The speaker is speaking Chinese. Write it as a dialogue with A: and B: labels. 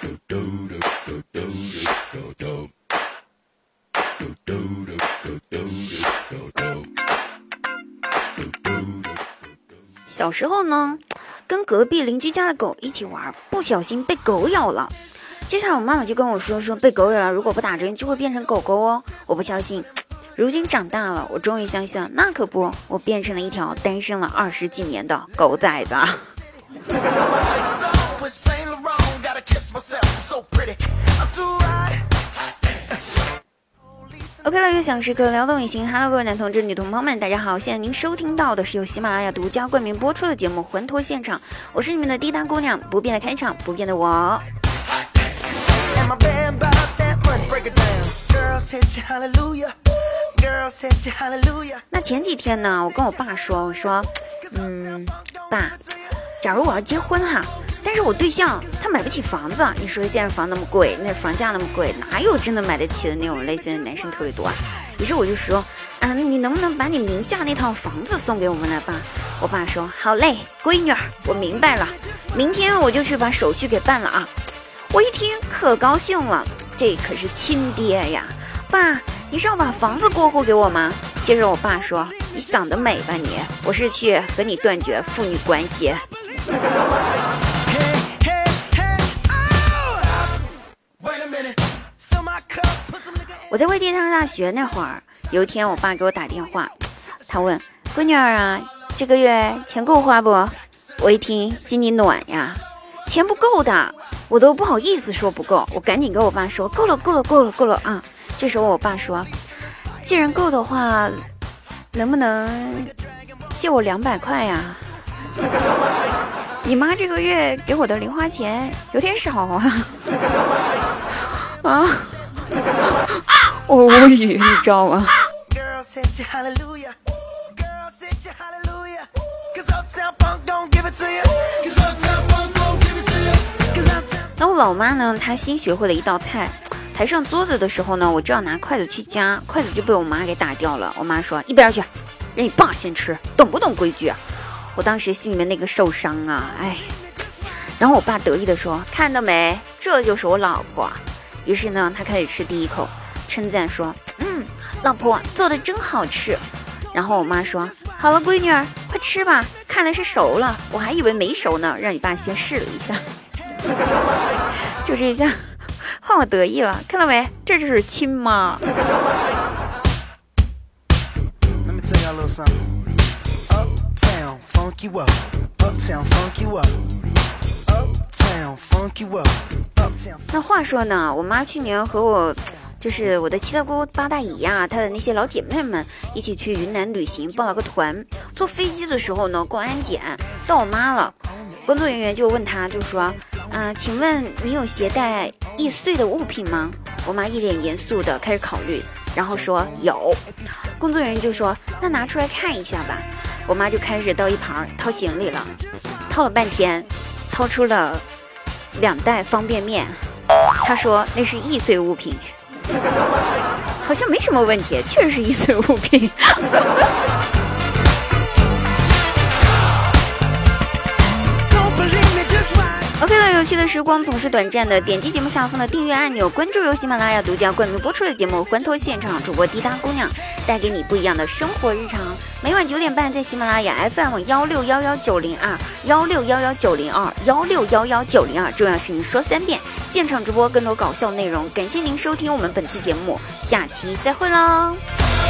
A: 小时候呢，跟隔壁邻居家的狗一起玩，不小心被狗咬了。接下来我妈妈就跟我说被狗咬了，如果不打针就会变成狗狗哦。我不相信，如今长大了，我终于相信了，那可不，我变成了一条单身了20几年的狗崽子。OK 了，悦享时刻，撩动你心。Hello， 各位男同志、女同胞们，大家好！现在您收听到的是由喜马拉雅独家冠名播出的节目《魂脱现场》，我是你们的滴答姑娘，不变的开场，不变的我。那前几天呢，我跟我爸说，爸，假如我要结婚哈，但是我对象他买不起房子，你说现在房那么贵，那房价那么贵，哪有真的买得起的那种类型的男生特别多啊？于是我就说你能不能把你名下那套房子送给我们来吧？我爸说好嘞，闺女儿，我明白了，明天我就去把手续给办了啊。我一听可高兴了，这可是亲爹呀！爸，你是要把房子过户给我吗？接着我爸说，你想得美吧你，我是去和你断绝父女关系。我在外地上大学那会儿，有一天我爸给我打电话，他问闺女儿啊，这个月钱够花不？我一听心里暖呀，钱不够的，我都不好意思说不够，我赶紧跟我爸说够了啊！这时候我爸说，既然够的话，能不能借我200块呀？你妈这个月给我的零花钱有点少啊！我无语，你知道吗？那我老妈呢，她新学会了一道菜，抬上桌子的时候呢，我就要拿筷子去夹，筷子就被我妈给打掉了。我妈说一边去，让你爸先吃，懂不懂规矩啊？我当时心里面那个受伤啊，然后我爸得意的说，看到没，这就是我老婆。于是呢，他开始吃第一口，称赞说，老婆做的真好吃。然后我妈说，好了闺女儿，快吃吧，看来是熟了，我还以为没熟呢，让你爸先试了一下。就这一下换我得意了，看到没，这就是亲妈。那话说呢，我妈去年和我就是我的七大姑八大姨呀，她的那些老姐妹们一起去云南旅行，报了个团。坐飞机的时候呢，过安检到我妈了，工作人员就问她，就说请问你有携带易碎的物品吗？我妈一脸严肃的开始考虑，然后说有。工作人员就说那拿出来看一下吧。我妈就开始到一旁掏行李了，掏了半天，掏出了2袋方便面。她说那是易碎物品，好像没什么问题，确实是易碎物品。OK 了，有趣的时光总是短暂的，点击节目下方的订阅按钮，关注由喜马拉雅独家冠名播出的节目《魂脱现场》，主播滴答姑娘带给你不一样的生活日常。每晚9点半在喜马拉雅 FM 1611902，1611902，1611902，重要是您说3遍，现场直播更多搞笑内容。感谢您收听我们本期节目，下期再会喽。